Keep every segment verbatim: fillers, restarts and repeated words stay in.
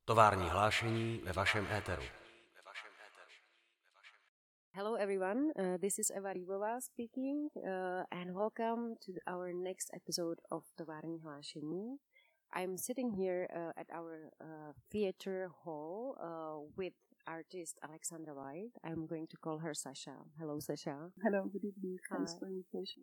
Tovární hlášení ve vašem éteru. Hello everyone, uh, this is Eva Rybová speaking uh, and welcome to our next episode of Tovární hlášení. I'm sitting here uh, at our uh, theater hall uh, with artist Alexandra White. I'm going to call her Sasha. Hello Sasha. Hello, good evening. Thanks Hi. for the invitation.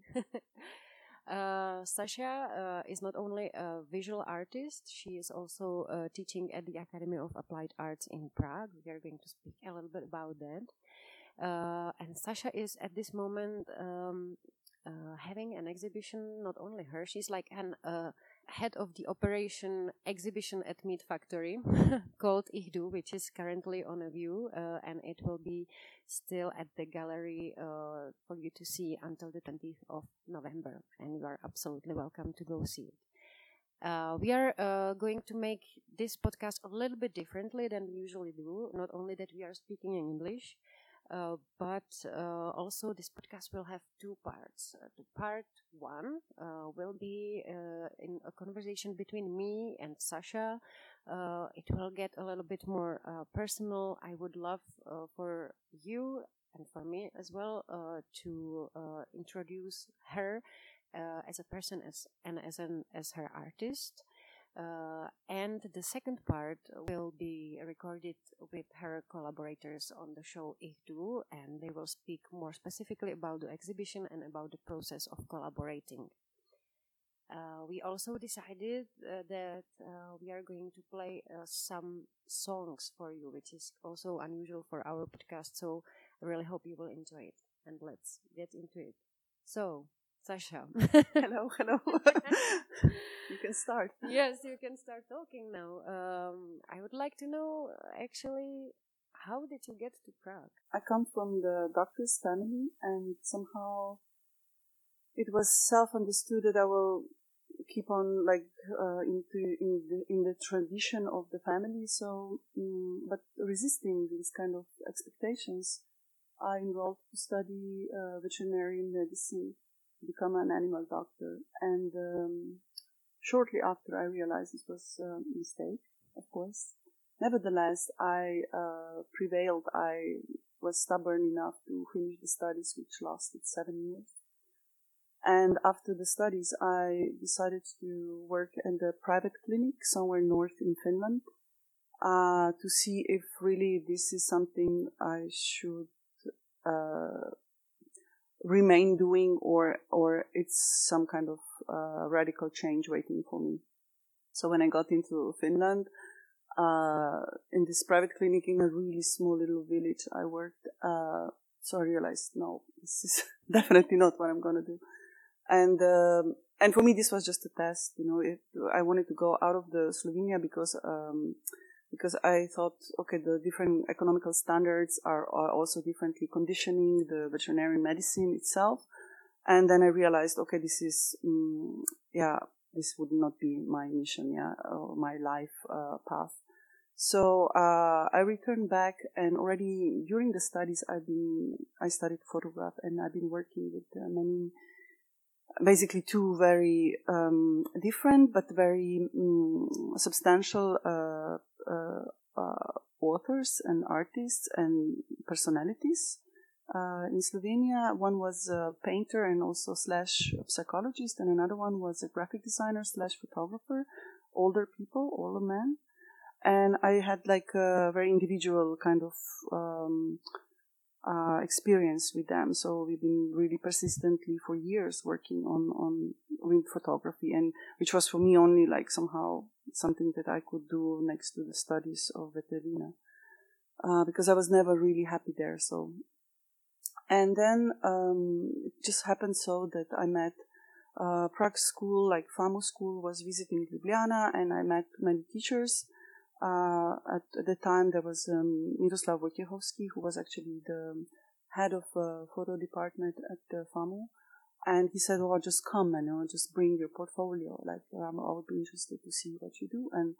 Uh, Sasha uh, is not only a visual artist, she is also uh, teaching at the Academy of Applied Arts in Prague. We are going to speak a little bit about that. Uh, and Sasha is at this moment um, uh, having an exhibition, not only her, she's like an uh, head of the operation exhibition at Meat Factory called Ihdu, which is currently on a view, uh, and it will be still at the gallery uh, for you to see until the twentieth of November, and you are absolutely welcome to go see it. Uh, we are uh, going to make this podcast a little bit differently than we usually do, not only that we are speaking in English, Uh, but uh, also this podcast will have two parts. Uh, the part one uh, will be uh, in a conversation between me and Sasha. Uh, it will get a little bit more uh, personal. I would love uh, for you and for me as well uh, to uh, introduce her uh, as a person as and as an as her artist. Uh, and the second part will be recorded with her collaborators on the show Ihdu, and they will speak more specifically about the exhibition and about the process of collaborating. Uh, we also decided uh, that uh, we are going to play uh, some songs for you, which is also unusual for our podcast, so I really hope you will enjoy it. And let's get into it. So, Sasha. Hello, hello. You can start. Yes, you can start talking now. Um, I would like to know, uh, actually, how did you get to Prague? I come from the doctor's family, and somehow it was self-understood that I will keep on like uh, into in the in the tradition of the family. So, um, but resisting these kind of expectations, I enrolled to study uh, veterinary medicine, become an animal doctor, and um, shortly after I realized this was a mistake, of course. Nevertheless, I uh, prevailed. I was stubborn enough to finish the studies, which lasted seven years. And after the studies, I decided to work in the private clinic somewhere north in Finland uh, to see if really this is something I should uh, remain doing, or or it's some kind of uh, radical change waiting for me. So when I got into Finland, uh, in this private clinic in a really small little village I worked, uh, so I realized, no, this is definitely not what I'm going to do. And um, and for me, this was just a test. You know, it, I wanted to go out of the Slovenia because um, because I thought, okay, the different economical standards are, are also differently conditioning the veterinary medicine itself. And then I realized, okay, this is, um, yeah, this would not be my mission, yeah, or my life uh, path. So uh, I returned back, and already during the studies, I've been, I studied photograph, and I've been working with uh, many, basically two very um, different but very um, substantial uh, uh, uh, authors and artists and personalities uh, in Slovenia. One was a painter and also slash psychologist, and another one was a graphic designer slash photographer, older people, older men. And I had like a very individual kind of um, uh, experience with them. So we've been really persistently for years working on, on with photography, and which was for me only like somehow something that I could do next to the studies of veterina, uh, because I was never really happy there. So, and then um, it just happened so that I met uh, Prague school, like FAMU school was visiting Ljubljana, and I met many teachers. Uh, at, at the time, there was um, Miroslav Wojciechowski, who was actually the head of uh, photo department at the FAMU. And he said, "Oh, just come and you know, just bring your portfolio. Like, um, I would be interested to see what you do." And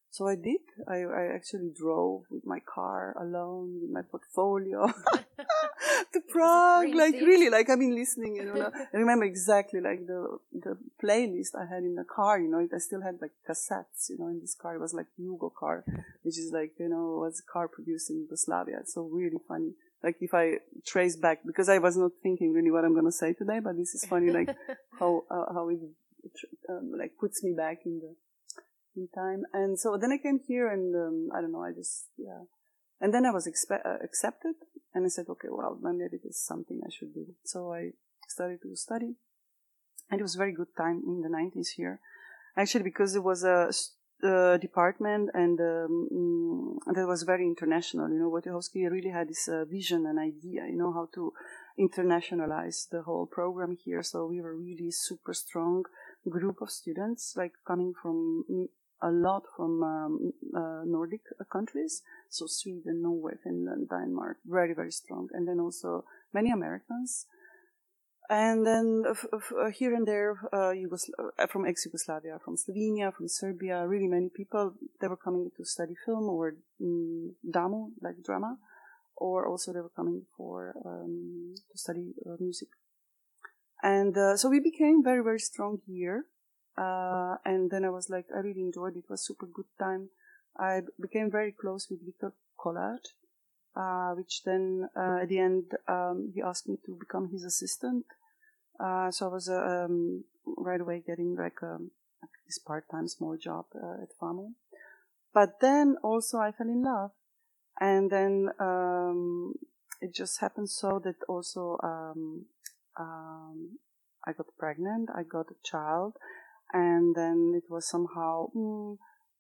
So I did. I, I actually drove with my car alone, with my portfolio to Prague. Like really, like I've been listening, you know. I remember exactly like the the playlist I had in the car, you know. I still had like cassettes, you know, in this car. It was like Yugo car, which is like, you know, was a car produced in Yugoslavia. So really funny. Like if I trace back, because I was not thinking really what I'm going to say today, but this is funny, like how uh, how it um, like puts me back in the in time. And so then I came here and um, I don't know, I just, yeah. And then I was expe- uh, accepted and I said, okay, well, maybe this is something I should do. So I started to study and it was a very good time in the nineties here. Actually, because it was a uh, department and um, that was very international. You know, Wojciechowski really had this uh, vision and idea, you know, how to internationalize the whole program here. So we were really super strong group of students, like coming from a lot from um, uh, Nordic countries, so Sweden, Norway, Finland, Denmark, very, very strong. And then also many Americans. And then uh, f- uh, here and there, uh, Yugosla- uh, from ex-Yugoslavia, from Slovenia, from Serbia, really many people, they were coming to study film or um, Damu, like drama, or also they were coming for um, to study uh, music. And uh, so we became very, very strong here. Uh, and then I was like, I really enjoyed it. It was super good time. I became very close with Viktor Kolar, uh, which then uh, at the end um, he asked me to become his assistant. Uh, so I was uh, um, right away getting like, um, like this part-time small job uh, at FAMU. But then also I fell in love. And then um, it just happened so that also um, um, I got pregnant, I got a child, and then it was somehow, mm,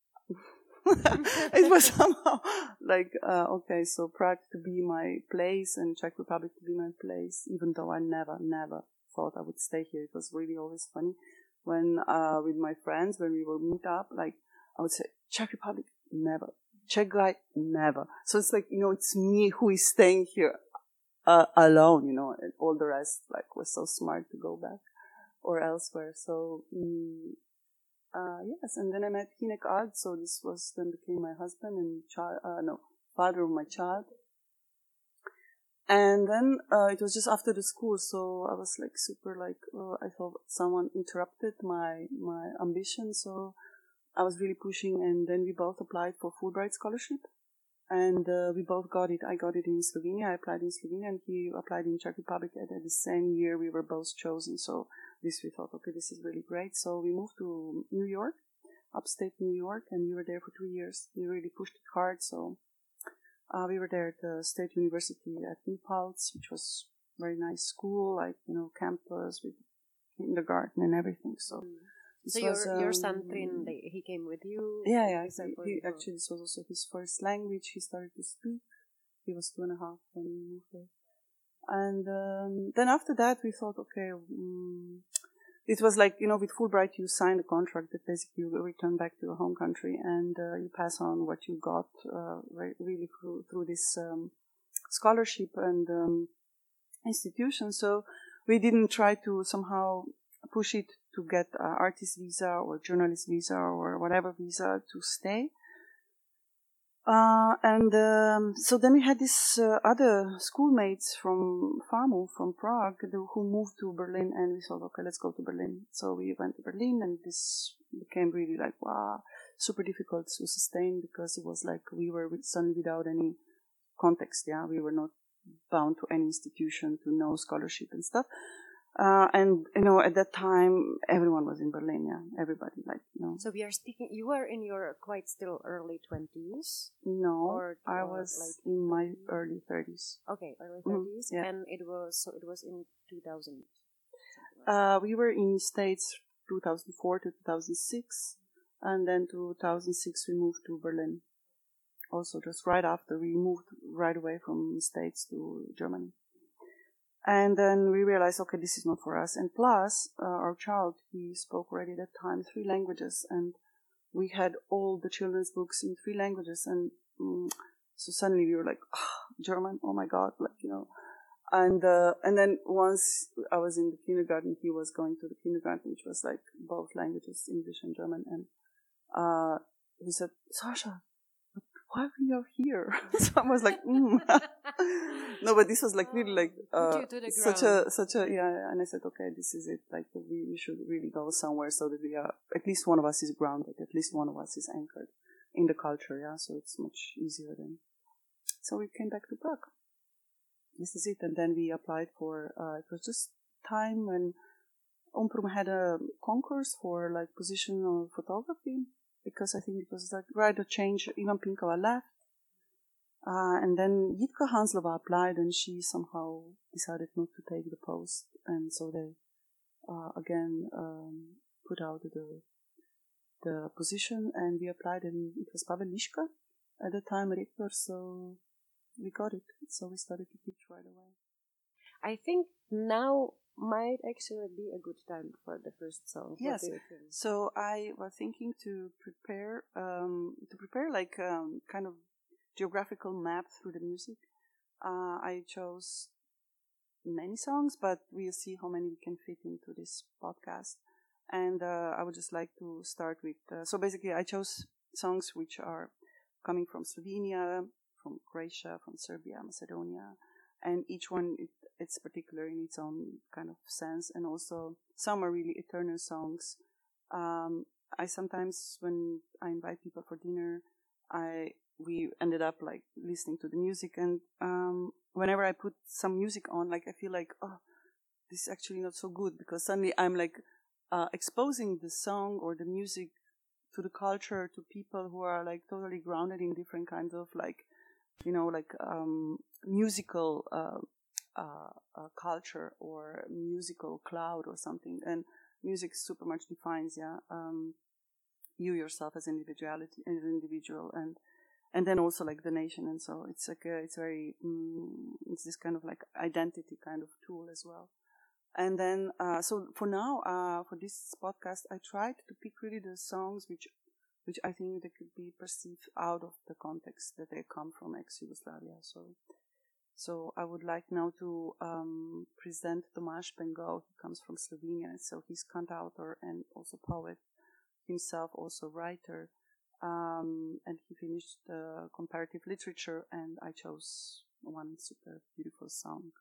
it was somehow like, uh, okay, so Prague to be my place and Czech Republic to be my place, even though I never, never thought I would stay here. It was really always funny when, uh, with my friends, when we would meet up, like, I would say, Czech Republic, never. Czech guy, never. So it's like, you know, it's me who is staying here uh, alone, you know, and all the rest, like, was so smart to go back or elsewhere. So, um, uh, yes, and then I met Hinek Ard, so this was, then became my husband and child, uh, no, father of my child. And then, uh, it was just after the school, so I was like super like, uh, I thought someone interrupted my, my ambition, so I was really pushing, and then we both applied for Fulbright scholarship, and uh, we both got it. I got it in Slovenia, I applied in Slovenia, and he applied in Czech Republic, and at the same year we were both chosen, so this we thought, okay, this is really great. So we moved to New York, upstate New York, and we were there for two years. We really pushed it hard, so uh, we were there at the State University at New Paltz, which was a very nice school, like, you know, campus with kindergarten and everything, so... Mm. This so your was, um, your son Trin, he came with you? Yeah, yeah. He, he, actually, this was also his first language. He started to speak. He was two and a half when we moved there. And um, then after that, we thought, okay, um, it was like, you know, with Fulbright, you sign a contract that basically you return back to your home country and uh, you pass on what you got uh, really through, through this um, scholarship and um, institution. So we didn't try to somehow push it to get uh, artist visa or journalist visa or whatever visa to stay. Uh, and um, so then we had these uh, other schoolmates from FAMU, from Prague, who moved to Berlin, and we thought, okay, let's go to Berlin. So we went to Berlin, and this became really like, wow, super difficult to sustain because it was like we were suddenly without any context, yeah, we were not bound to any institution, to no scholarship and stuff. Uh, and, you know, at that time, everyone was in Berlin, yeah, everybody, like, you know. So we are speaking, you were in your quite still early twenties? No, or, I or was like in my early thirties. Okay, early Mm-hmm, thirties, yeah. and it was, so it was in two thousand? Uh, we were in States two thousand four to two thousand six, and then two thousand six we moved to Berlin. Also, just right after, we moved right away from States to Germany. And then we realized, okay, this is not for us. And plus, uh, our child, he spoke already at that time three languages, and we had all the children's books in three languages. And um, so suddenly we were like, oh, German, oh my God, like, you know. And uh, and then once I was in the kindergarten, he was going to the kindergarten, which was like both languages, English and German. And uh, he said, Sasha, why are you here? So I was like, mm. No, but this was like really like uh, such a such a yeah. And I said, okay, this is it. Like we, we should really go somewhere so that we are at least one of us is grounded, at least one of us is anchored in the culture. Yeah, so it's much easier then. So we came back to Prague. This is it, and then we applied for. Uh, it was just time when Omprum had a concourse for like positional photography. Because I think it was like right a change. Ivan Pinkova left, uh, and then Jitka Hanslova applied, and she somehow decided not to take the post, and so they uh, again um, put out the the position, and we applied, and it was Pavel Liška at the time rector, so we got it. So we started to teach right away. I think now might actually be a good time for the first song. Yes. So I was thinking to prepare, um, to prepare like um, kind of geographical map through the music. Uh, I chose many songs, but we'll see how many we can fit into this podcast. And uh, I would just like to start with. Uh, so basically, I chose songs which are coming from Slovenia, from Croatia, from Serbia, Macedonia, and each one. It, It's particular in its own kind of sense, and also some are really eternal songs. Um, I sometimes, when I invite people for dinner, I we ended up like listening to the music, and um, whenever I put some music on, like I feel like, oh, this is actually not so good, because suddenly I'm like uh, exposing the song or the music to the culture, to people who are like totally grounded in different kinds of like, you know, like um, musical. Uh, Uh, uh, culture or musical cloud or something, and music super much defines, yeah, um, you yourself as individuality, as an individual, and and then also like the nation, and so it's like a, it's very mm, it's this kind of like identity kind of tool as well. And then uh, so for now, uh, for this podcast, I tried to pick really the songs which which I think they could be perceived out of the context that they come from ex-Yugoslavia. So. So I would like now to um, present Tomáš Pengov. He comes from Slovenia, so he's cantautor and also poet himself, also writer. Um, and he finished uh, comparative literature, and I chose one super beautiful song.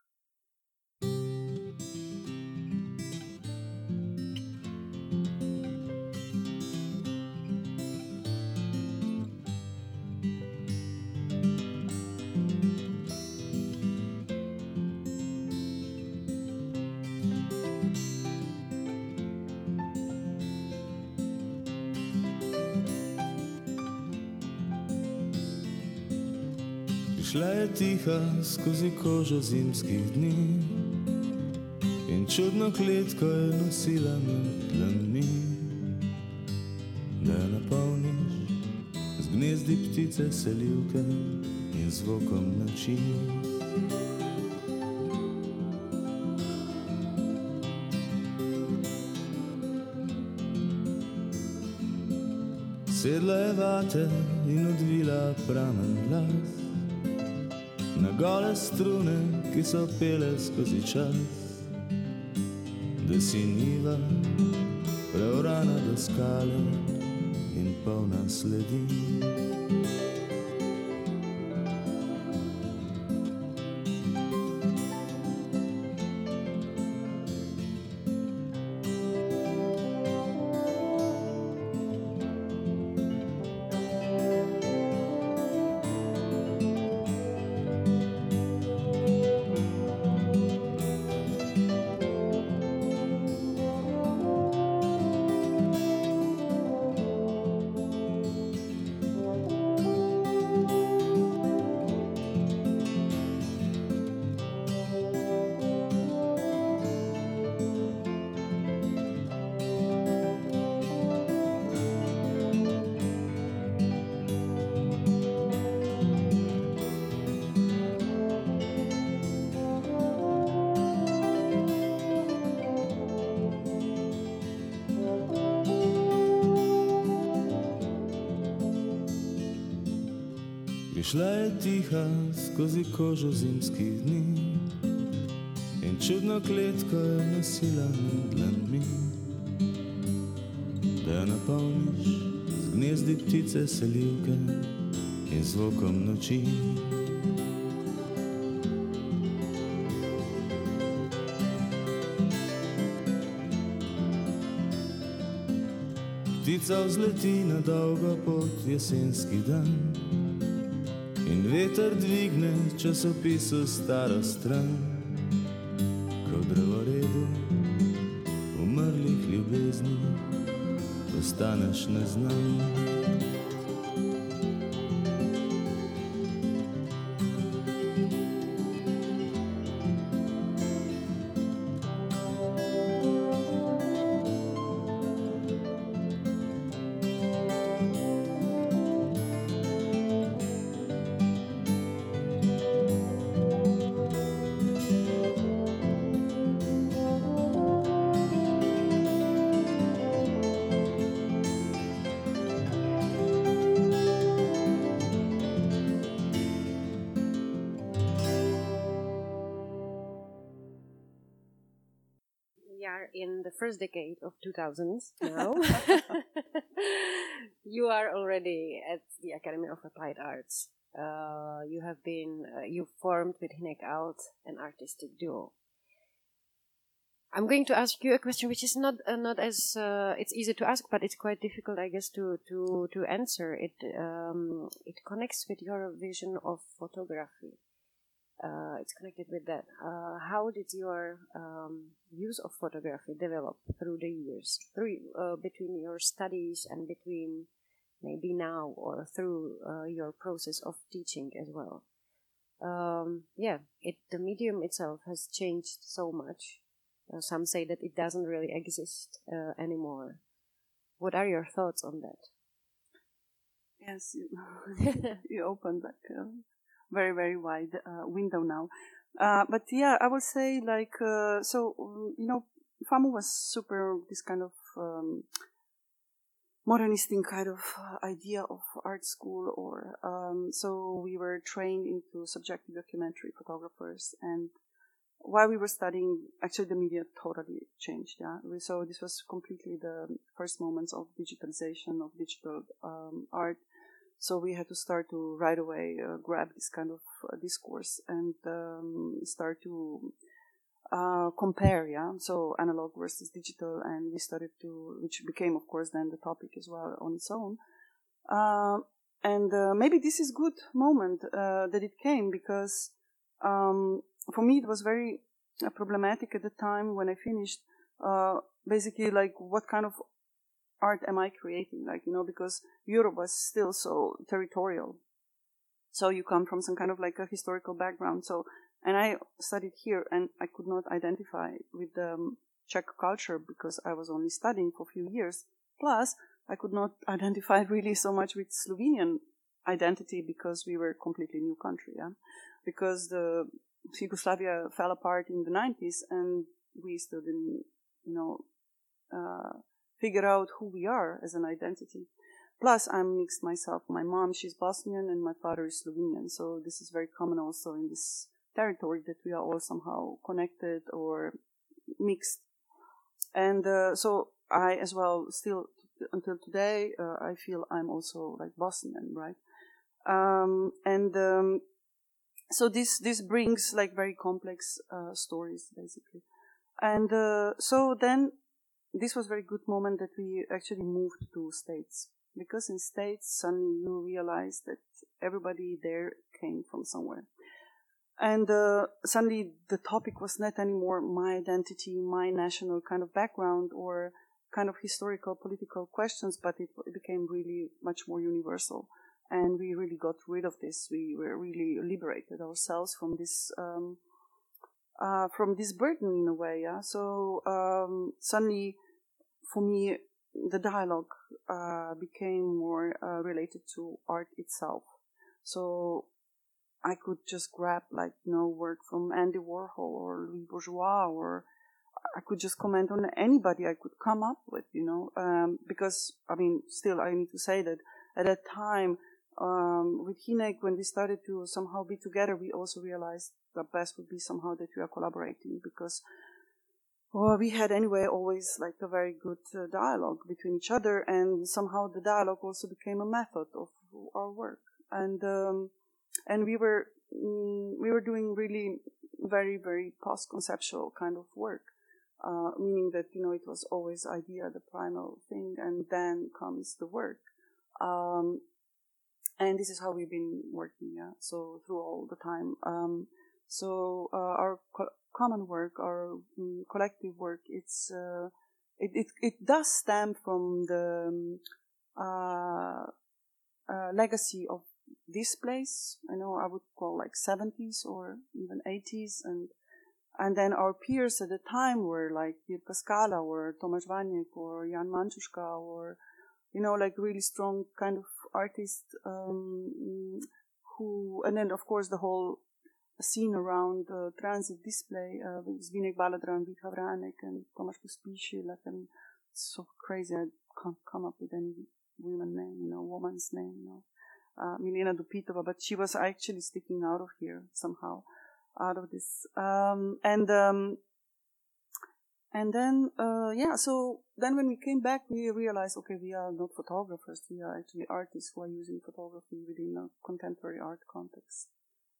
Šla je tiha skozi kožo zimskih dni in čudno kletko je nosila med dlanmi, da jo napolniš z gnezdi ptice selivke in zvokom noči. Sedla je vate in odvila pramen glas na gole strune, ki so pele skozi čas, da si niva preorana do skale in polna sledi. Prišla je tiha skozi kožo zimskih dni in čudno kletko je nosila med dlanmi, da jo napolniš z gnezdi ptice selivke in zvokom noči. Ptica vzleti na dolgo pot jesenski dan in veter dvigne časopisu staro stran, ko v drevoredu umrlih ljubezni postaneš neznan. In the first decade of two thousands now. You are already at the Academy of Applied Arts. Uh, you have been, uh, you formed with Hinek Alt an artistic duo. I'm going to ask you a question which is not uh, not as, uh, it's easy to ask, but it's quite difficult, I guess, to, to, to answer. It, um, it connects with your vision of photography. Uh, it's connected with that. Uh, how did your um, use of photography develop through the years, through uh, between your studies and between maybe now or through uh, your process of teaching as well? Um, yeah, it the medium itself has changed so much. Uh, some say that it doesn't really exist uh, anymore. What are your thoughts on that? Yes, you, you opened like a very, very wide uh, window now. Uh, but yeah, I would say like, uh, so, um, you know, FAMU was super this kind of um, modernistic kind of idea of art school, or um, so we were trained into subjective documentary photographers, and while we were studying, actually the media totally changed. Yeah, we, so this was completely the first moments of digitalization of digital um, art. So we had to start to right away uh, grab this kind of uh, discourse and um, start to uh, compare, yeah. So analog versus digital, and we started to, which became, of course, then the topic as well on its own. Uh, and uh, maybe this is good moment uh, that it came, because um, for me it was very uh, problematic at the time when I finished. Uh, basically, like, what kind of art am I creating? Like, you know, because Europe was still so territorial. So you come from some kind of like a historical background. So, and I studied here, and I could not identify with the um, Czech culture because I was only studying for a few years. Plus, I could not identify really so much with Slovenian identity because we were a completely new country, yeah. Because the Yugoslavia fell apart in the nineties, and we still didn't, you know, uh, figure out who we are as an identity. Plus, I'm mixed myself. My mom, she's Bosnian, and my father is Slovenian. So this is very common also in this territory, that we are all somehow connected or mixed. And uh, so I as well, still until today, uh, I feel I'm also like Bosnian, right? Um, and um, so this this brings like very complex uh, stories, basically. And uh, so then, this was a very good moment that we actually moved to States, because in States suddenly you realize that everybody there came from somewhere, and uh, suddenly the topic was not anymore my identity, my national kind of background, or kind of historical political questions, but it, it became really much more universal, and we really got rid of this. We were really liberated ourselves from this. Um, Uh, from this burden in a way, yeah. So um, suddenly, for me, the dialogue uh, became more uh, related to art itself. So I could just grab, like, you know, work from Andy Warhol or Louis Bourgeois, or I could just comment on anybody I could come up with, you know. Um, because I mean, still, I need to say that at that time, um, with Hinek, when we started to somehow be together, we also realized the best would be somehow that we are collaborating, because well, we had anyway always like a very good uh, dialogue between each other, and somehow the dialogue also became a method of our work. And um, and we were mm, we were doing really very very post-conceptual kind of work, uh, meaning that you know it was always idea the primal thing, and then comes the work. Um, and this is how we've been working, yeah. So through all the time. Um, so uh, our co- common work, our um, collective work, it's uh, it, it it does stem from the um, uh, uh, legacy of this place. I know I would call like seventies or even eighties, and and then our peers at the time were like Jirka Skala or Tomasz Waniek or Jan Mančuška, or you know, like really strong kind of artists um, who, and then of course the whole scene around uh, transit display uh, with Zvinek Baladran, Vika Vranek, and Tomasz Pospíšil. Like, I mean, it's so crazy. I can't come up with any woman name, you know, woman's name, you know. Uh, Milena Dupitova, but she was actually sticking out of here somehow, out of this. Um, and um, and then, uh, yeah, so then when we came back, we realized, okay, we are not photographers. We are actually artists who are using photography within a contemporary art context.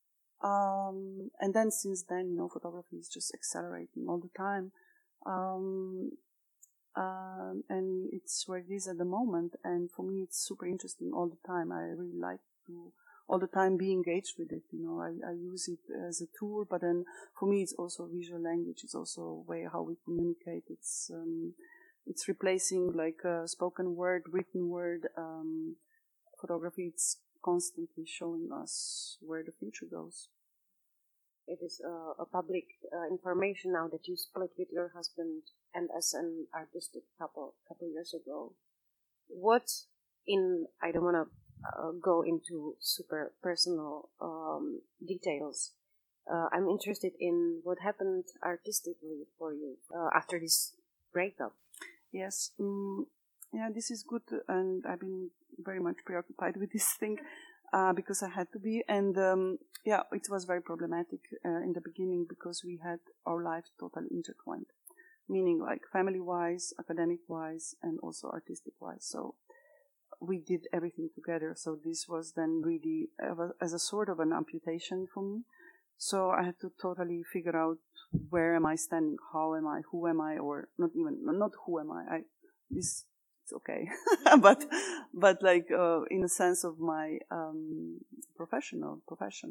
Um, and then since then, you know, photography is just accelerating all the time. Um, um, and it's where it is at the moment. And for me, it's super interesting all the time. I really like to all the time be engaged with it. You know, I, I use it as a tool, but then for me, it's also visual language. It's also a way how we communicate. It's, um, it's replacing like a spoken word, written word, um, photography. It's constantly showing us where the future goes. It is uh, a public uh, information now that you split with your husband and as an artistic couple a couple years ago. What in, I don't want to uh, go into super personal um, details. Uh, I'm interested in what happened artistically for you uh, after this breakup. Yes. Um, yeah, this is good, and I've been very much preoccupied with this thing uh, because I had to be. And um, yeah, it was very problematic uh, in the beginning because we had our lives totally intertwined, meaning like family-wise, academic-wise, and also artistic-wise. So we did everything together. So this was then really uh, as a sort of an amputation for me. So I had to totally figure out where am I standing, how am I, who am I, or not even, not who am I. I this it's okay, but but like uh, in the sense of my um, professional profession.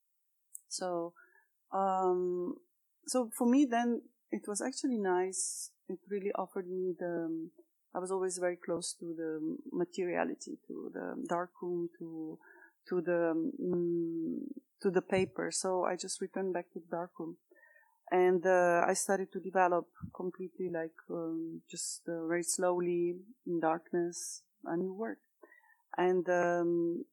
So um, so for me then it was actually nice. It really offered me the. Um, I was always very close to the materiality, to the darkroom, to to the um, to the paper. So I just returned back to the darkroom, and uh, I started to develop completely, like um, just uh, very slowly in darkness, a new work. And um,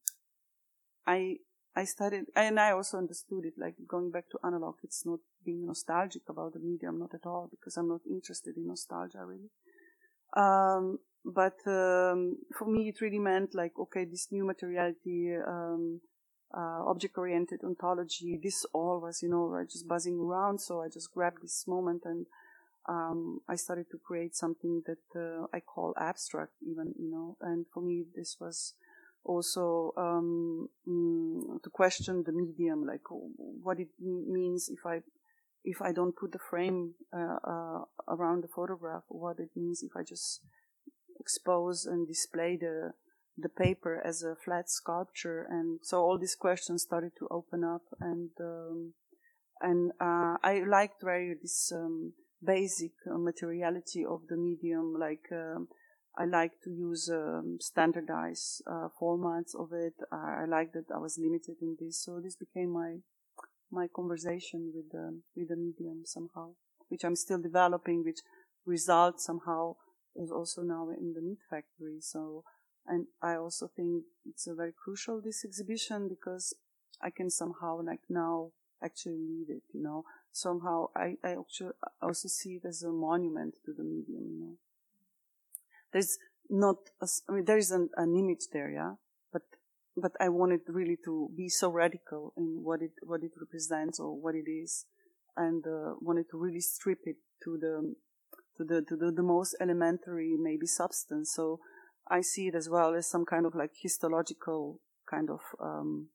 I I started, and I also understood it. Like going back to analog, it's not being nostalgic about the medium, not at all, because I'm not interested in nostalgia really. Um, but um, for me, it really meant like, okay, this new materiality, um, uh, object-oriented ontology, this all was, you know, right, just buzzing around. So I just grabbed this moment and um, I started to create something that uh, I call abstract even, you know. And for me, this was also um, mm, to question the medium, like what it means if I if I don't put the frame uh, uh, around the photograph, what it means if I just expose and display the the paper as a flat sculpture. And so all these questions started to open up, and um, and uh, I liked very this um, basic uh, materiality of the medium. Like um, I like to use um, standardized uh, formats of it. I, I like that I was limited in this, so this became my my conversation with the with the medium somehow, which I'm still developing, which results somehow is also now in the Meat Factory. So, and I also think it's a very crucial, this exhibition, because I can somehow like now actually leave it, you know. Somehow I, I actually also see it as a monument to the medium, you know. There's not, a, I mean, there is an, an image there, yeah, but but I wanted really to be so radical in what it what it represents or what it is, and uh, wanted to really strip it to the to the to the, the most elementary maybe substance. So I see it as well as some kind of like histological kind of um,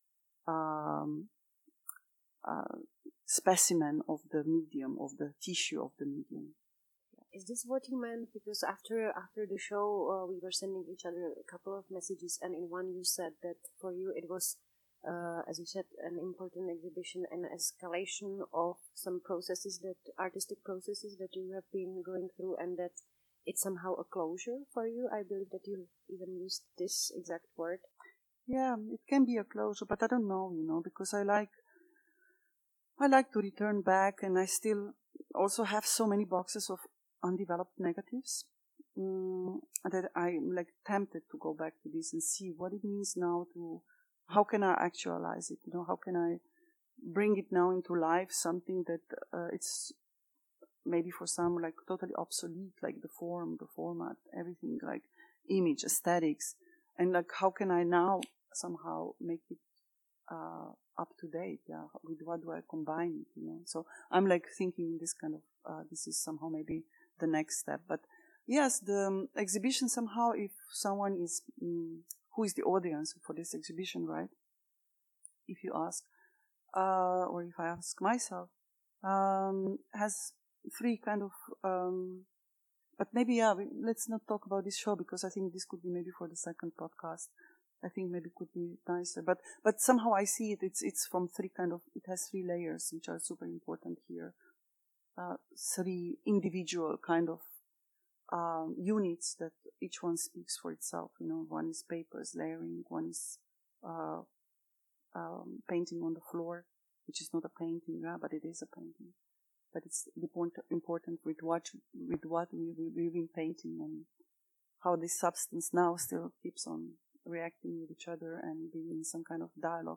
um, uh, specimen of the medium, of the tissue of the medium. Is this what you meant? Because after after the show, uh, we were sending each other a couple of messages, and in one you said that for you it was, uh, as you said, an important exhibition, an escalation of some processes, that artistic processes that you have been going through, and that it's somehow a closure for you. I believe that you even used this exact word. Yeah, it can be a closure, but I don't know, you know, because I like, I like to return back, and I still also have so many boxes of undeveloped negatives um, that I'm like tempted to go back to this and see what it means now to, how can I actualize it, you know, how can I bring it now into life, something that uh, it's maybe for some like totally obsolete, like the form, the format, everything, like image, aesthetics, and like how can I now somehow make it uh, up to date, yeah, with what do I combine it, you know, so I'm like thinking this kind of, uh, this is somehow maybe the next step. But yes, the um, exhibition somehow, if someone is, um, who is the audience for this exhibition, right? If you ask, uh, or if I ask myself, um, has three kind of, um, but maybe, yeah, we, let's not talk about this show because I think this could be maybe for the second podcast. I think maybe it could be nicer, but, but somehow I see it, it's, it's from three kind of, it has three layers, which are super important here. Uh, three individual kind of um, units that each one speaks for itself. You know, one is papers layering, one is uh, um, painting on the floor, which is not a painting, yeah, but it is a painting. But it's important, important with what with what we we we've been painting and how this substance now still keeps on reacting with each other and being in some kind of dialogue.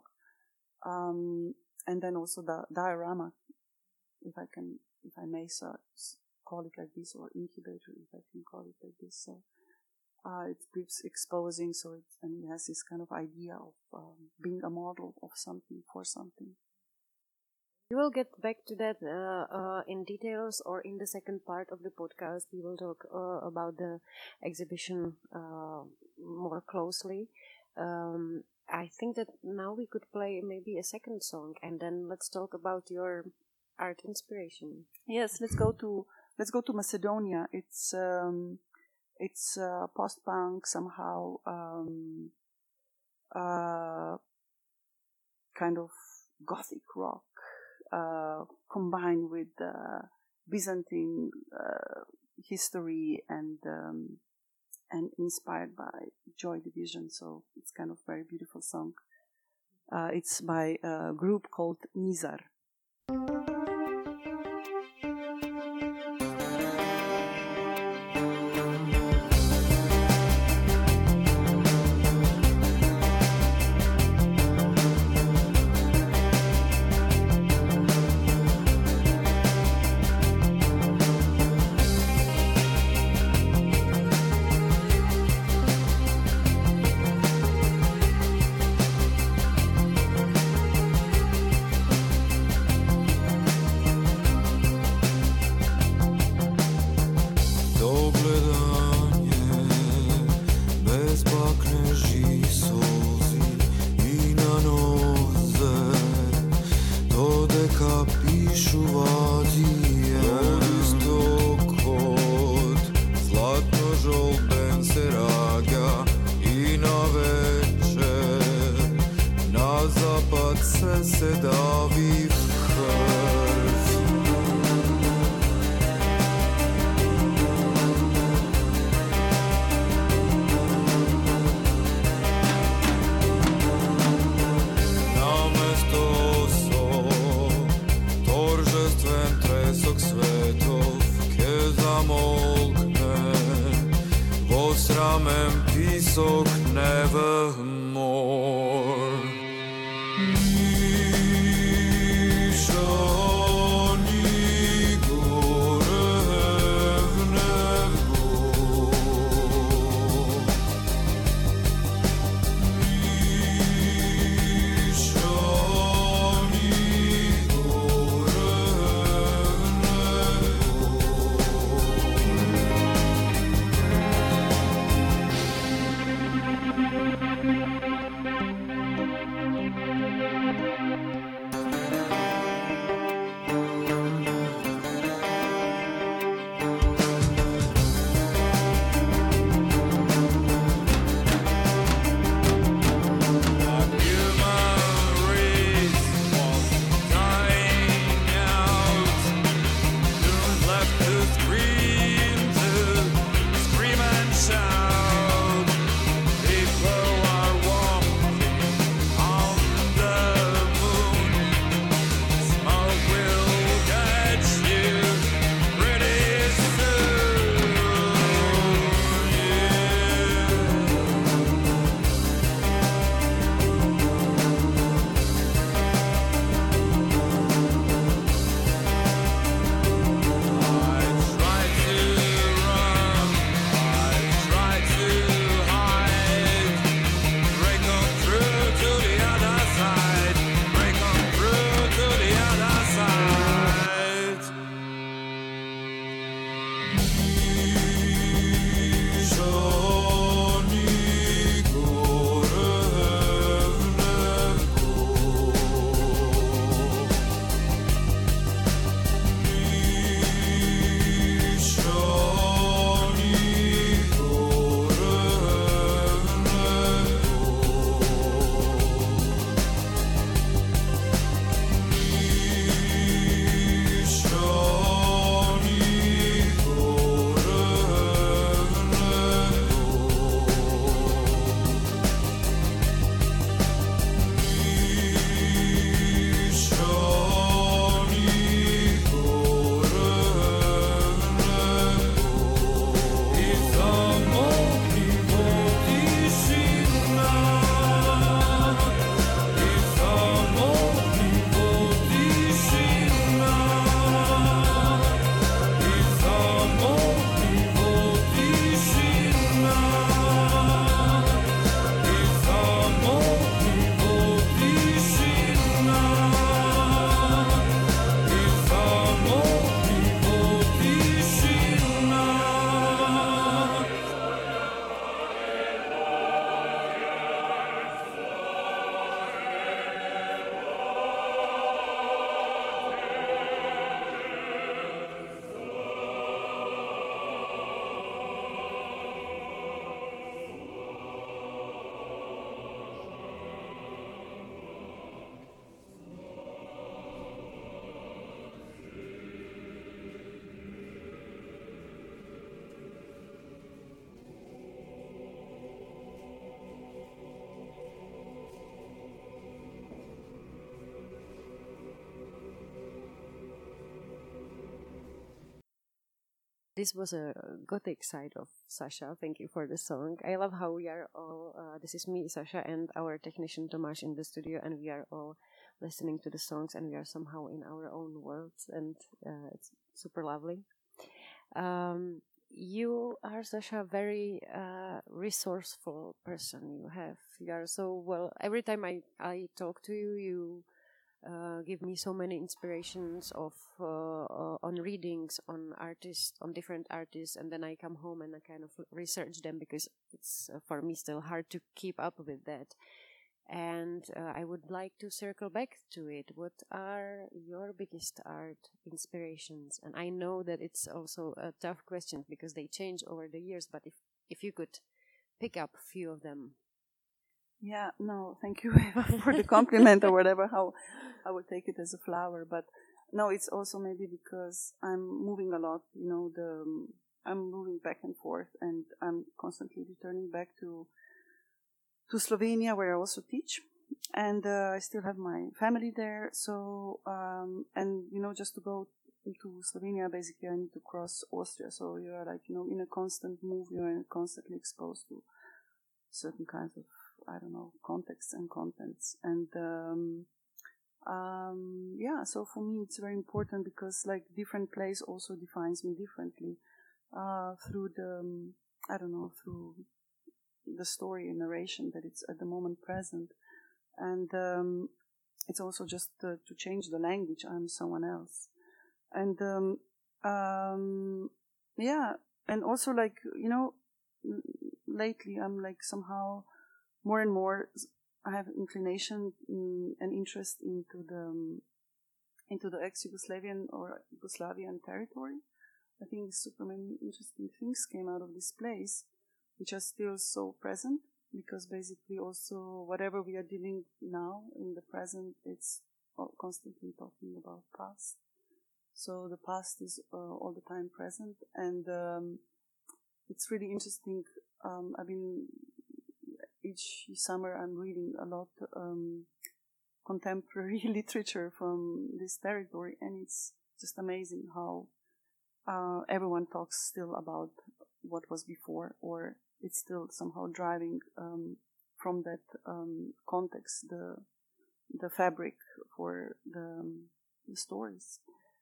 Um, and then also the diorama, if I can. If I may so call it like this, or incubator, if I can call it like this. So uh, it keeps exposing, so it, and it has this kind of idea of um, being a model of something for something. We will get back to that uh, uh, in details, or in the second part of the podcast. We will talk uh, about the exhibition uh, more closely. Um, I think that now we could play maybe a second song, and then let's talk about your art inspiration. Yes, let's go to let's go to Macedonia. It's um, it's uh, post-punk somehow, um, uh, kind of gothic rock uh, combined with uh, Byzantine uh, history and um, and inspired by Joy Division. So it's kind of very beautiful song. Uh, it's by a group called Nizar. This was a gothic side of Sasha. Thank you for the song. I love how we are all, uh, this is me, Sasha, and our technician Tomáš in the studio, and we are all listening to the songs, and we are somehow in our own worlds, and uh, it's super lovely. Um, you are, Sasha, a very uh, resourceful person. You have, you are so, well, every time I, I talk to you, you Uh, give me so many inspirations of uh, uh, on readings on artists, on different artists, and then I come home and I kind of research them because it's uh, for me still hard to keep up with that. And uh, I would like to circle back to it. What are your biggest art inspirations? And I know that it's also a tough question because they change over the years, but if, if you could pick up a few of them. Yeah, no, thank you for the compliment or whatever, how I would take it as a flower. But no, it's also maybe because I'm moving a lot, you know, the um, I'm moving back and forth, and I'm constantly returning back to to Slovenia, where I also teach. And uh, I still have my family there. So, um, and, you know, just to go to Slovenia, basically I need to cross Austria. So you are like, you know, in a constant move, you are constantly exposed to certain kinds of, I don't know, contexts and contents. And, um, um, yeah, so for me it's very important because like different place also defines me differently, uh, through the, um, I don't know, through the story and narration that it's at the moment present. And, um, it's also just uh, to change the language. I'm someone else. And, um, um, yeah, and also like, you know, lately I'm like somehow more and more, I have inclination in, and interest into the um, into the ex-Yugoslavian or Yugoslavian territory. I think super many interesting things came out of this place, which are still so present, because basically also whatever we are dealing now in the present, it's constantly talking about past. So the past is uh, all the time present, and um, it's really interesting. Um, I've been each summer I'm reading a lot um, contemporary literature from this territory, and it's just amazing how uh, everyone talks still about what was before, or it's still somehow driving um, from that um, context the the fabric for the, um, the stories.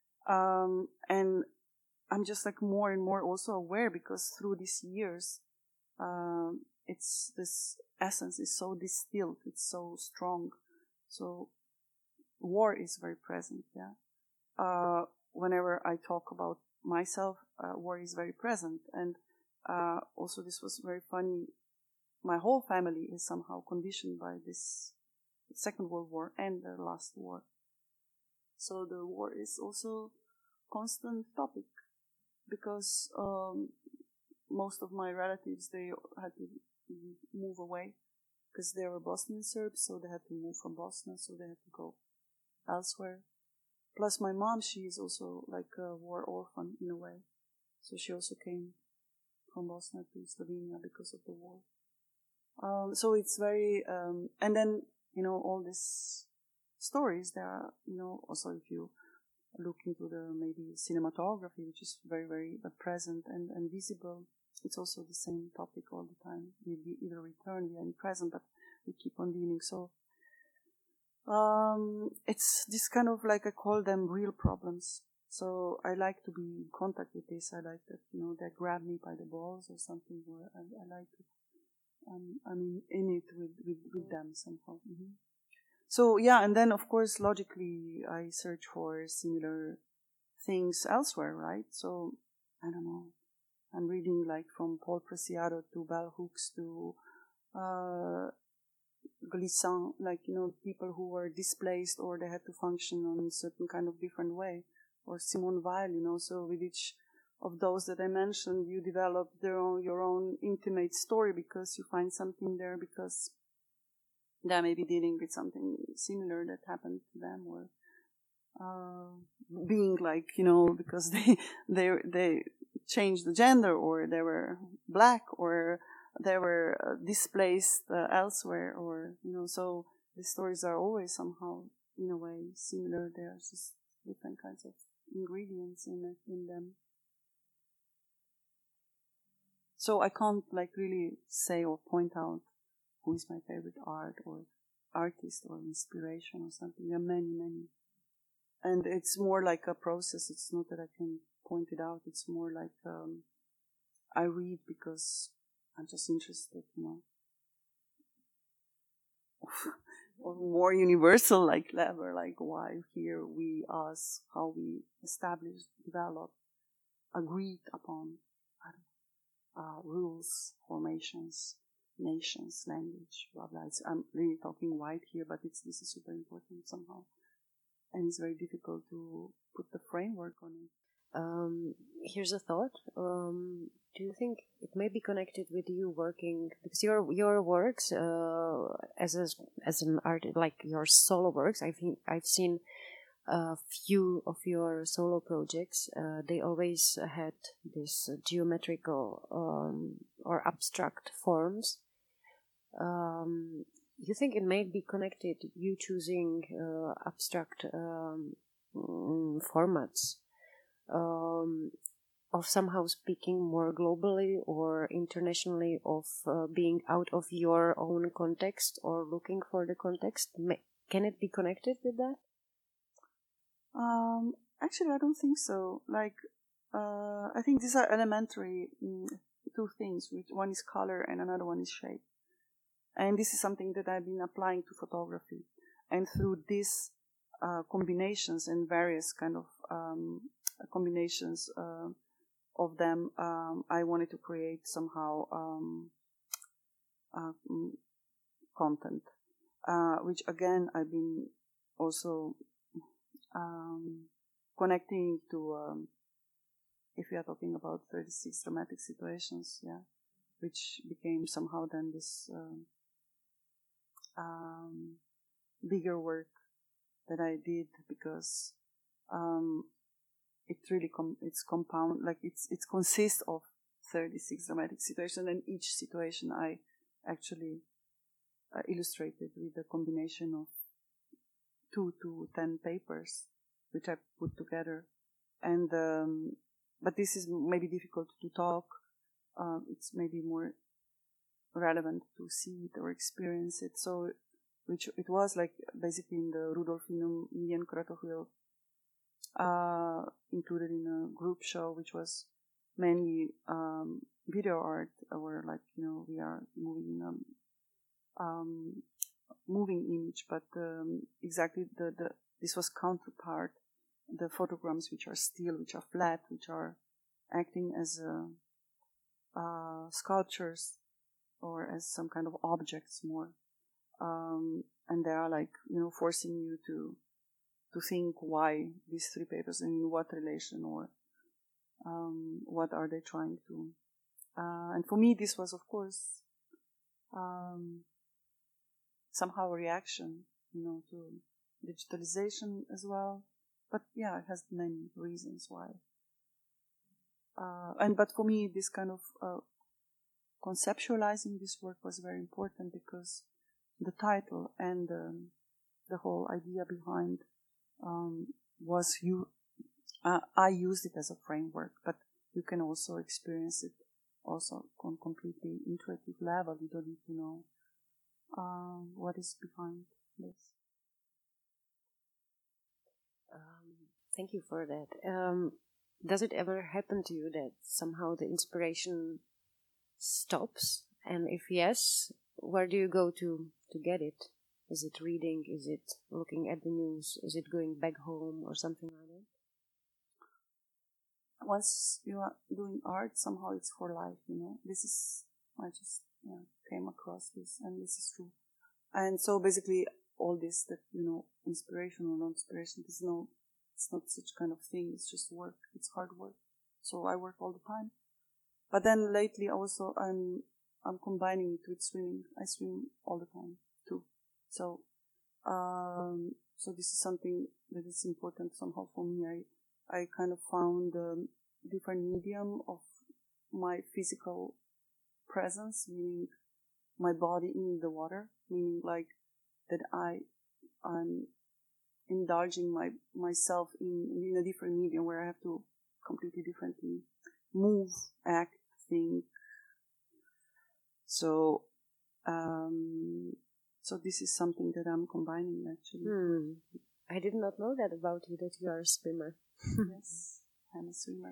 Um, and I'm just like more and more also aware, because through these years, um, it's this essence is so distilled, it's so strong. So war is very present, yeah. Uh, whenever I talk about myself, uh, war is very present. And uh, also this was very funny. My whole family is somehow conditioned by this Second World War and the last war. So the war is also constant topic, because um, most of my relatives, they had to move away because they were Bosnian Serbs, so they had to move from Bosnia, so they had to go elsewhere. Plus my mom, she is also like a war orphan in a way. So she also came from Bosnia to Slovenia because of the war. Um, so it's very, um, and then, you know, all these stories, there are, you know, also if you look into the maybe cinematography, which is very, very uh, present and, and visible, it's also the same topic all the time. We either return, we are in present, but we keep on dealing. So um, it's this kind of like, I call them real problems. So I like to be in contact with this. I like that, you know, they grab me by the balls or something, or I, I like it. Um, I'm in, in it with, with, with them somehow. Mm-hmm. So yeah, and then of course, logically, I search for similar things elsewhere, right? So, I don't know, I'm reading like from Paul Preciado to Bell Hooks to uh, Glissant, like, you know, people who were displaced or they had to function on a certain kind of different way. Or Simone Weil, you know, so with each of those that I mentioned, you develop their own, your own intimate story, because you find something there, because they may be dealing with something similar that happened to them, or uh, being like, you know, because they they they changed the gender, or they were black, or they were uh, displaced uh, elsewhere, or, you know, so the stories are always somehow in a way similar. There's just different kinds of ingredients in it, in them. So I can't like really say or point out who is my favorite art or artist or inspiration or something. There are many, many. And it's more like a process. It's not that I can point it out. It's more like um, I read because I'm just interested, you know. Or more universal, like clever, like why here, we, us, how we establish, develop, agreed upon I don't know, uh, rules, formations, nations, language, blah blah. It's, I'm really talking wide here, but it's this is super important somehow, and it's very difficult to put the framework on it. Um, here's a thought. Um, do you think it may be connected with you working, because your your works uh, as a, as an artist, like your solo works? I think I've seen a few of your solo projects. Uh, they always had this geometrical um, or abstract forms. Um, you think it may be connected, you choosing uh, abstract um, formats? Um, of somehow speaking more globally or internationally, of uh, being out of your own context or looking for the context? May, can it be connected with that? Um, actually, I don't think so. Like, uh, I think these are elementary mm, two things. Which one is color and another one is shape. And this is something that I've been applying to photography. And through these uh, combinations and various kind of um, combinations uh, of them, um, I wanted to create somehow um, uh, content, uh, which again I've been also um, connecting to, um, if we are talking about thirty-six dramatic situations, yeah, which became somehow then this um, um, bigger work that I did, because um, it really com- it's compound, like it's it consists of thirty-six dramatic situations, and each situation I actually uh, illustrated with a combination of two to ten papers, which I put together. And um, but this is maybe difficult to talk. Uh, it's maybe more relevant to see it or experience it. So, which it was like basically in the Rudolfinum Indian Kratochvíl, uh, included in a group show, which was mainly um, video art, or like, you know, we are moving in a um, moving image, but um, exactly the, the this was counterpart, the photograms which are still, which are flat, which are acting as a, uh, sculptures or as some kind of objects more, um, and they are like, you know, forcing you to to think why these three papers and in what relation, or um, what are they trying to. Uh, and for me, this was, of course, um, somehow a reaction, you know, to digitalization as well. But yeah, it has many reasons why. Uh, and but for me, this kind of uh, conceptualizing this work was very important, because the title and um, the whole idea behind um, was you. Uh, I used it as a framework, but you can also experience it also on completely intuitive level. You don't need to know um, what is behind this. Um, thank you for that. Um, does it ever happen to you that somehow the inspiration stops? And if yes, where do you go to, to get it? Is it reading? Is it looking at the news? Is it going back home or something like that? Once you are doing art, somehow it's for life, you know. This is, I just yeah, came across this, and this is true. And so basically, all this that, you know, inspiration or non-inspiration, there's no, it's not such kind of thing. It's just work. It's hard work. So I work all the time. But then lately also I'm I'm combining it with swimming. I swim all the time too. So um, so this is something that is important somehow for me. I I kind of found a different medium of my physical presence, meaning my body in the water, meaning like that I I'm indulging my myself in in a different medium where I have to completely differently move, act, think, So, um, so this is something that I'm combining actually. Hmm. I did not know that about you, that you are a swimmer. Yes, I'm a swimmer.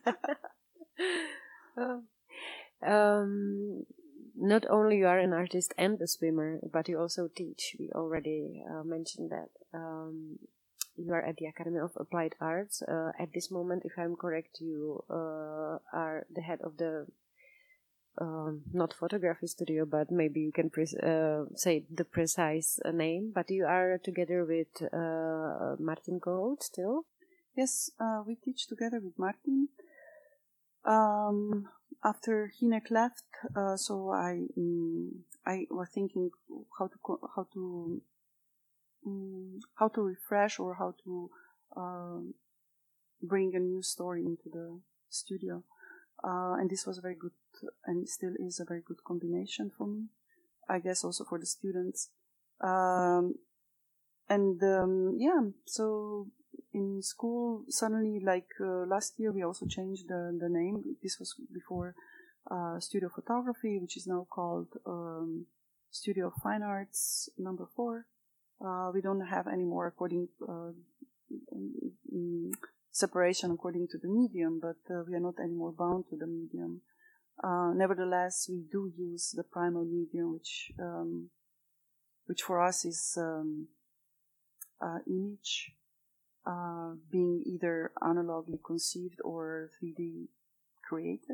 Oh. Um, not only you are an artist and a swimmer, but you also teach. We already uh, mentioned that. Um, you are at the Academy of Applied Arts. Uh, at this moment, if I'm correct, you uh, are the head of the um, not photography studio, but maybe you can pre- uh, say the precise uh, name. But you are together with uh, Martin Kohout still? Yes, uh, we teach together with Martin. Um, after Hinek left, uh, so I um, I was thinking how to co- how to um, how to refresh or how to uh, bring a new story into the studio, uh, and this was a very good and still is a very good combination for me. I guess also for the students, um, and um, yeah, so. In school, suddenly, like uh, last year, we also changed the, the name. This was before uh, Studio Photography, which is now called um, Studio of Fine Arts number four. Uh, we don't have any more according uh, um, separation according to the medium, but uh, we are not anymore bound to the medium. Uh, nevertheless, we do use the primal medium, which um, which for us is um, uh, image. Uh, being either analogly conceived or three D created.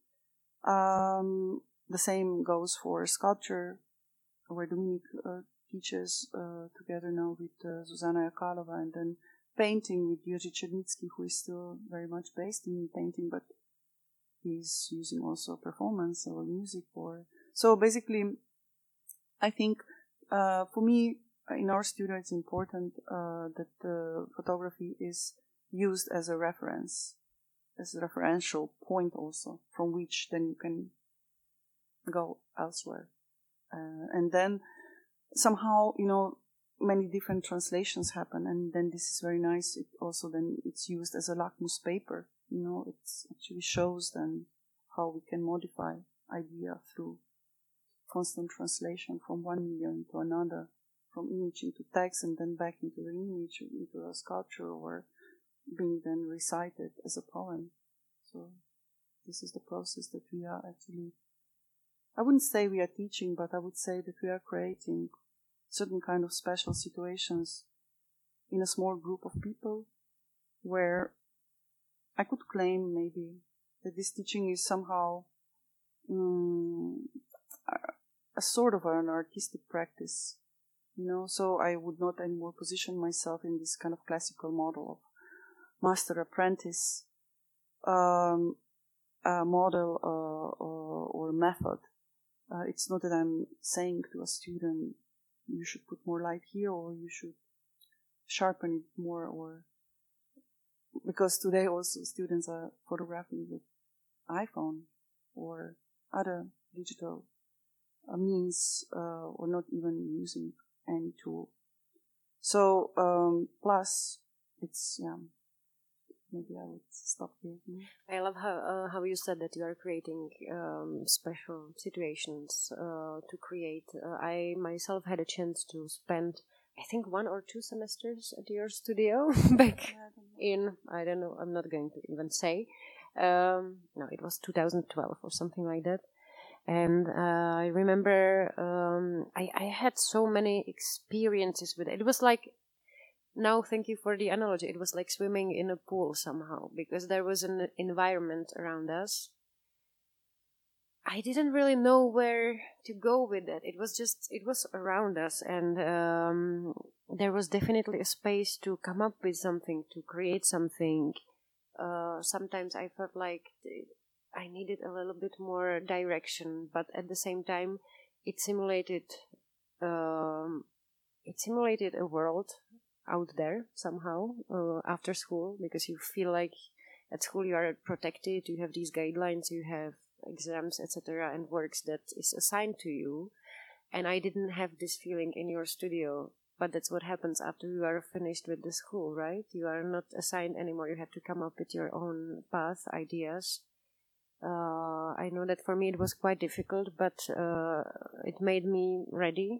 Um, the same goes for sculpture, where Dominik uh, teaches uh, together now with uh, Zuzana Yakalova, and then painting with Jiří Černický, who is still very much based in painting, but he's using also performance or music. Or so basically, I think uh, for me, in our studio, it's important uh, that the photography is used as a reference, as a referential point also, from which then you can go elsewhere. Uh, and then somehow, you know, many different translations happen, and then this is very nice. It also then it's used as a lakmus paper. You know, it actually shows then how we can modify idea through constant translation from one medium to another, from image into text and then back into the image, into a sculpture, or being then recited as a poem. So this is the process that we are actually, I wouldn't say we are teaching, but I would say that we are creating certain kind of special situations in a small group of people where I could claim maybe that this teaching is somehow um, a sort of an artistic practice. You know, so I would not anymore position myself in this kind of classical model of master-apprentice um, uh, model uh, or, or method. Uh, it's not that I'm saying to a student, you should put more light here or you should sharpen it more, or because today also students are photographing with iPhone or other digital uh, means uh, or not even using any tool. So, um, plus, it's, yeah, maybe I would stop here. I love how uh, how you said that you are creating um, special situations uh, to create. Uh, I myself had a chance to spend, I think, one or two semesters at your studio back in, I don't know, I'm not going to even say. Um, no, it was two thousand twelve or something like that. And uh, I remember um, I, I had so many experiences with it. It was like, now thank you for the analogy, it was like swimming in a pool somehow, because there was an environment around us. I didn't really know where to go with it. It was just, it was around us, and um, there was definitely a space to come up with something, to create something. Uh, sometimes I felt like I needed a little bit more direction, but at the same time, it simulated, um, it simulated a world out there somehow uh, after school, because you feel like at school you are protected, you have these guidelines, you have exams, et cetera, and works that is assigned to you. And I didn't have this feeling in your studio. But that's what happens after you are finished with the school, right? You are not assigned anymore. You have to come up with your own path, ideas. Uh, I know that for me it was quite difficult, but uh, it made me ready,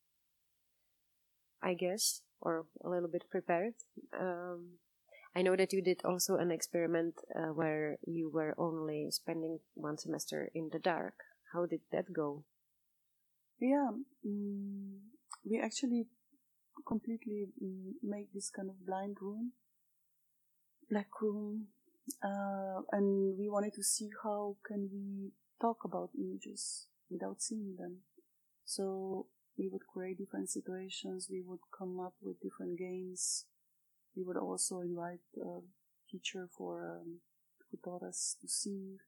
I guess, or a little bit prepared. Um, I know that you did also an experiment uh, where you were only spending one semester in the dark. How did that go? Yeah, um, we actually completely um, made this kind of blind room, black room, uh, and we wanted to see how can we talk about images without seeing them. So we would create different situations, we would come up with different games. We would also invite a teacher for um, who taught us to sing,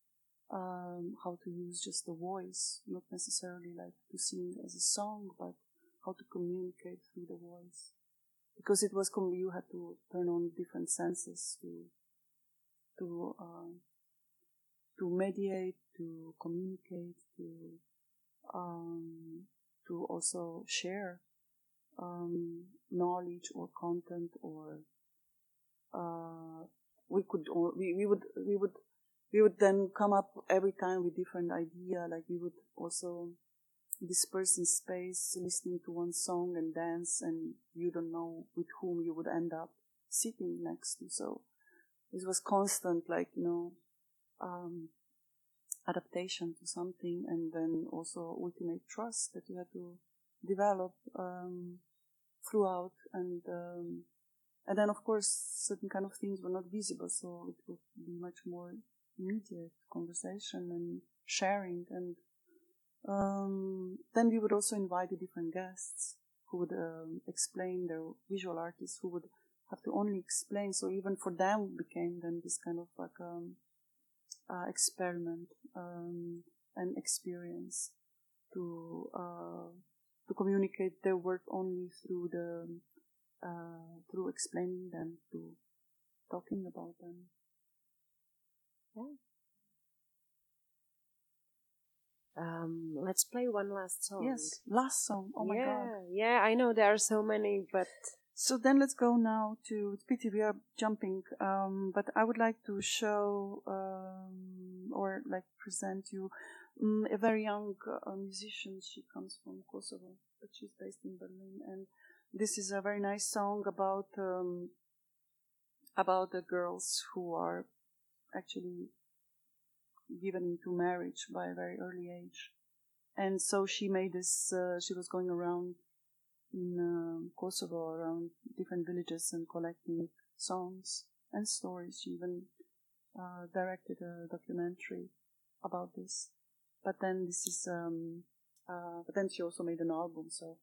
um, how to use just the voice, not necessarily like to sing as a song, but how to communicate through the voice. Because it was com- you had to turn on different senses to to uh, to mediate, to communicate, to um, to also share um, knowledge or content, or uh, we could or we, we would we would we would then come up every time with different idea. Like we would also disperse in space, listening to one song and dance, and you don't know with whom you would end up sitting next to. So it was constant, like, you know, um, adaptation to something, and then also ultimate trust that you had to develop um, throughout, and um, and then of course certain kind of things were not visible, so it would be much more immediate conversation and sharing, and um, then we would also invite the different guests who would um, explain, their visual artists who would have to only explain, so even for them became then this kind of like um, uh, experiment um, and experience to uh, to communicate their work only through the uh, through explaining them, to talking about them. Yeah. Um, let's play one last song. Yes, last song. Oh my yeah, god. Yeah, I know there are so many, but so then let's go now to. It's pity we are jumping, um, but I would like to show um, or like present you um, a very young uh, musician. She comes from Kosovo, but she's based in Berlin, and this is a very nice song about um, about the girls who are actually given into marriage by a very early age. And so she made this, uh, she was going around in uh, Kosovo, around different villages, and collecting songs and stories. She even uh, directed a documentary about this. But then this is, um, uh, but then she also made an album, so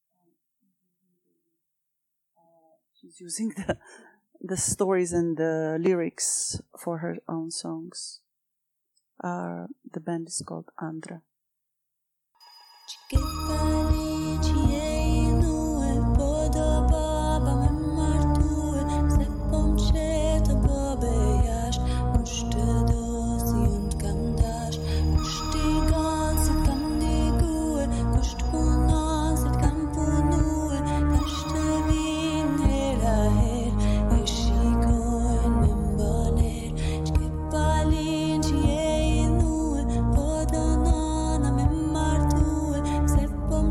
uh, she's using the, the stories and the lyrics for her own songs. Uh, the band is called Andra. Sepom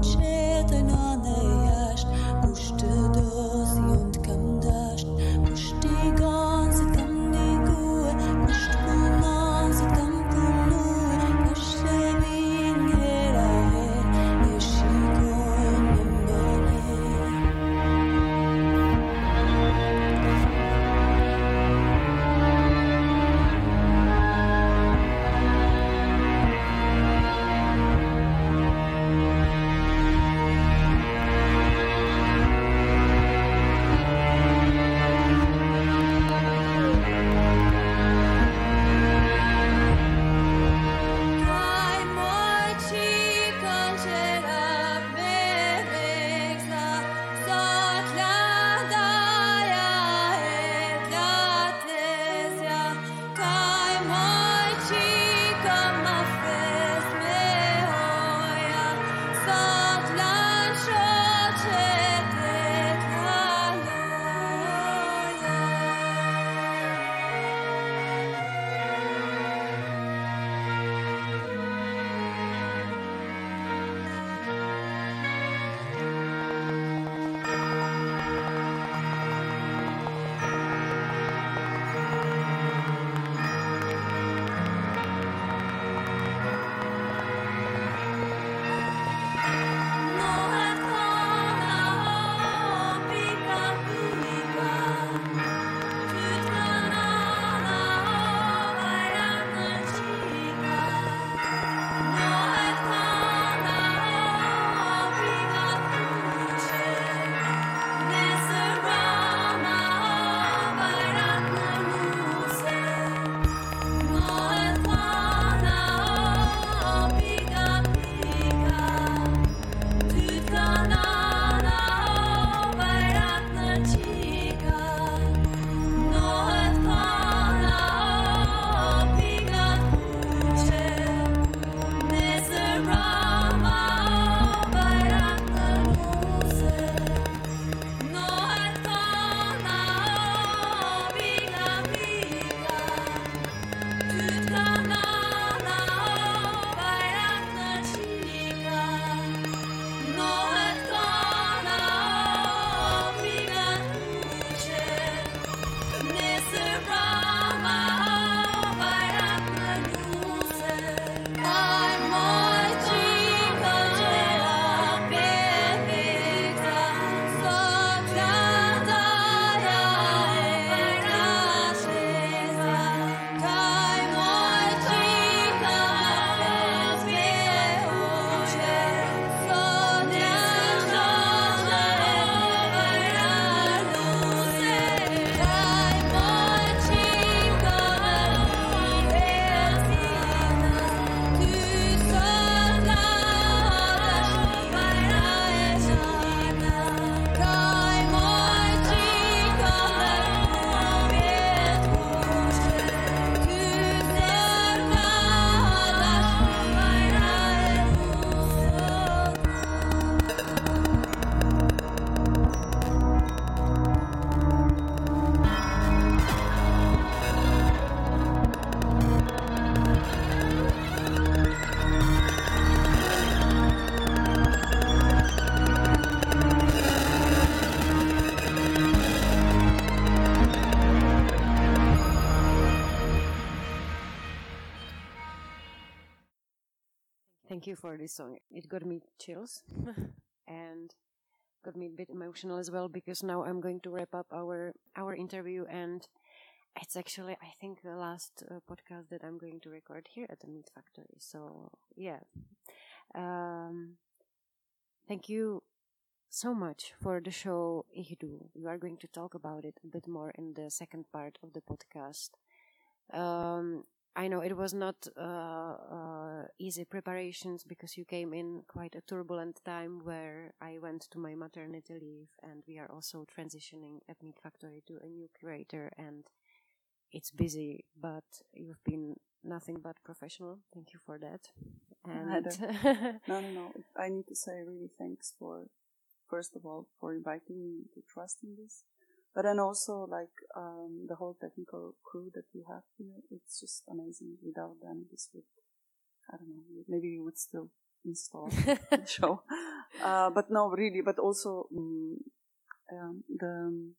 thank you for this song. It got me chills and got me a bit emotional as well, because now I'm going to wrap up our our interview, and it's actually, I think, the last uh, podcast that I'm going to record here at the Meat Factory. So yeah, um, thank you so much for the show Ihdu. We are going to talk about it a bit more in the second part of the podcast. Um, I know it was not uh, uh, easy preparations, because you came in quite a turbulent time where I went to my maternity leave, and we are also transitioning at Meat Factory to a new curator, and it's busy, but you've been nothing but professional. Thank you for that. And no, no, no. I need to say really thanks for, first of all, for inviting me to trust in this. But then also, like, um, the whole technical crew that you have here, it's just amazing. Without them, this would, I don't know, maybe you would still install the show. Uh, but no, really, but also um, um, the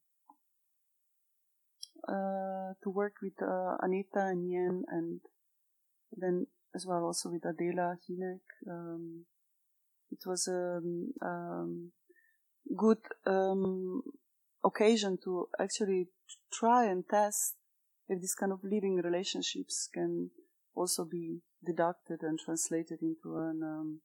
uh, to work with uh, Anita and Yen, and then as well also with Adela Hinek. Um, it was a um, um, good um, occasion to actually try and test if this kind of living relationships can also be deducted and translated into an um,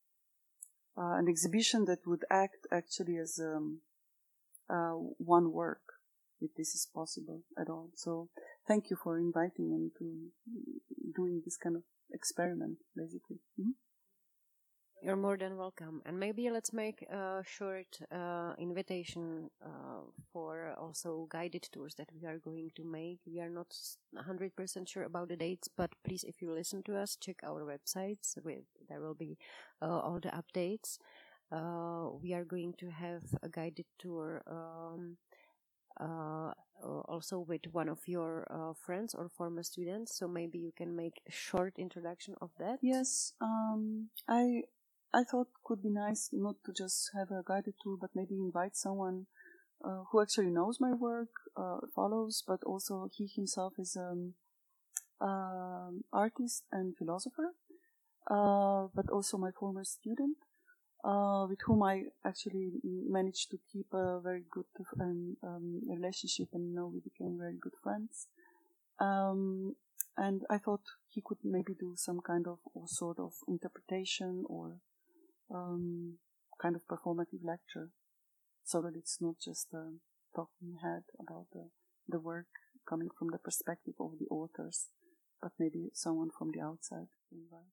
uh, an exhibition that would act actually as um, uh, one work, if this is possible at all. So thank you for inviting me to doing this kind of experiment, basically. Mm-hmm. You're more than welcome. And maybe let's make a short uh, invitation uh, for also guided tours that we are going to make. We are not one hundred percent sure about the dates, but please, if you listen to us, check our websites. With, there will be uh, all the updates. Uh, we are going to have a guided tour um, uh, also with one of your uh, friends or former students. So maybe you can make a short introduction of that. Yes, um, I... I thought it could be nice not to just have a guided tour, but maybe invite someone uh, who actually knows my work, uh, follows, but also he himself is an um, um, artist and philosopher, uh, but also my former student, uh, with whom I actually managed to keep a very good um, um, relationship, and you know, we became very good friends. Um, and I thought he could maybe do some kind of or sort of interpretation or Um, kind of performative lecture, so that it's not just a talking head about the, the work coming from the perspective of the authors, but maybe someone from the outside to invite.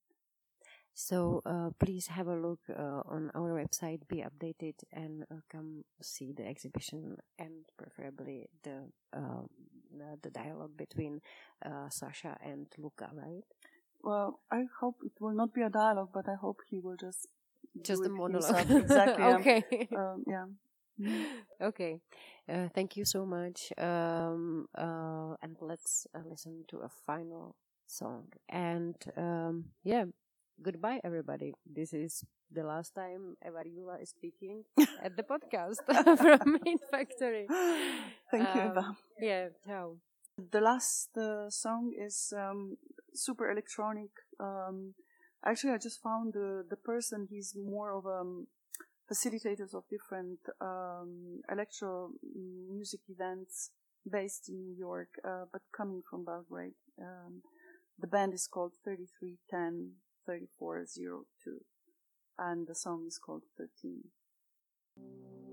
So uh, please have a look uh, on our website, be updated, and uh, come see the exhibition, and preferably the uh, the dialogue between uh, Sasha and Luca, right? Well, I hope it will not be a dialogue, but I hope he will just Just a monologue. Himself. Exactly. Okay. Um, yeah. Okay. Uh, thank you so much. Um, uh, and let's uh, listen to a final song. And um, yeah, goodbye, everybody. This is the last time Eva Rigula is speaking at the podcast from Meat Factory. Thank um, you, Eva. Yeah, ciao. The last uh, song is um, super electronic. Um, Actually, I just found the, the person, he's more of a um, facilitators of different um, electro music events based in New York, uh, but coming from Belgrade. Um, the band is called thirty-three ten thirty-four oh two, and the song is called thirteen.